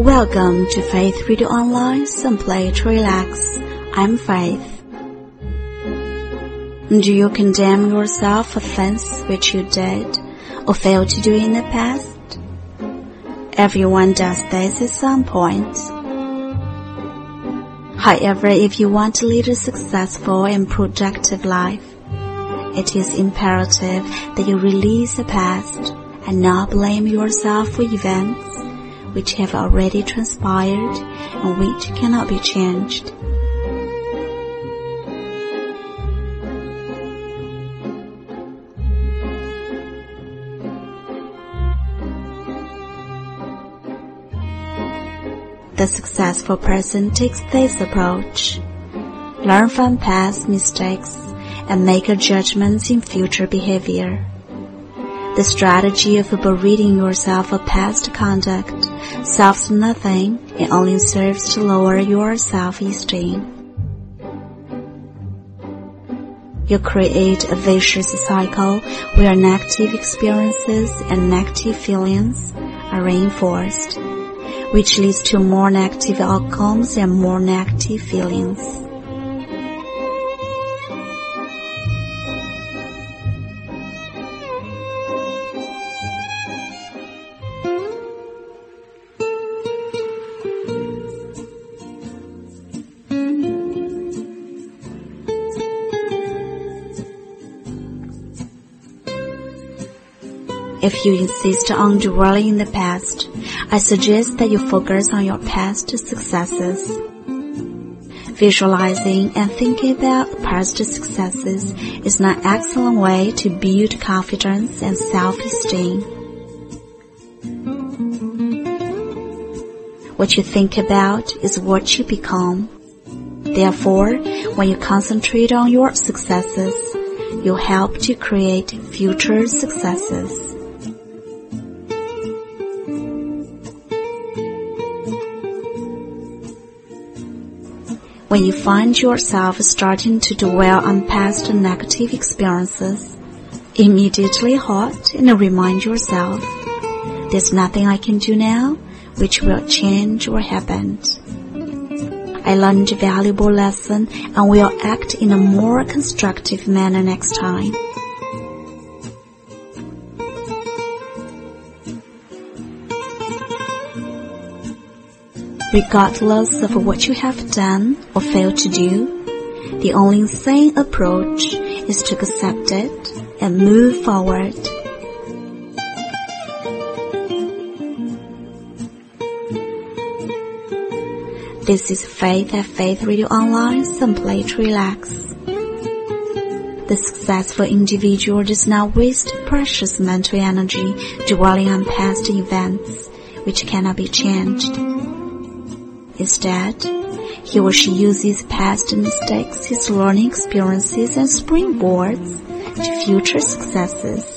Welcome to Faith Radio Online, simply to relax. I'm Faith. Do you condemn yourself for things which you did or failed to do in the past? Everyone does this at some point. However, if you want to lead a successful and productive life, it is imperative that you release the past and not blame yourself for events which have already transpired and which cannot be changed. The successful person takes this approach: learn from past mistakes and make judgments in future behavior. The strategy of berating yourself of past conduct solves nothing and only serves to lower your self-esteem. You create a vicious cycle where negative experiences and negative feelings are reinforced, which leads to more negative outcomes and more negative feelings. If you insist on dwelling in the past, I suggest that you focus on your past successes. Visualizing and thinking about past successes is an excellent way to build confidence and self-esteem. What you think about is what you become. Therefore, when you concentrate on your successes, you help to create future successes. When you find yourself starting to dwell on past negative experiences, immediately halt and remind yourself, there's nothing I can do now which will change what happened. I learned a valuable lesson and will act in a more constructive manner next time. Regardless of what you have done or failed to do, the only sane approach is to accept it and move forward. This is Faith at Faith Radio Online, simply to relax. The successful individual does not waste precious mental energy dwelling on past events which cannot be changed. Instead, he or she uses past mistakes, his learning experiences, and springboards to future successes.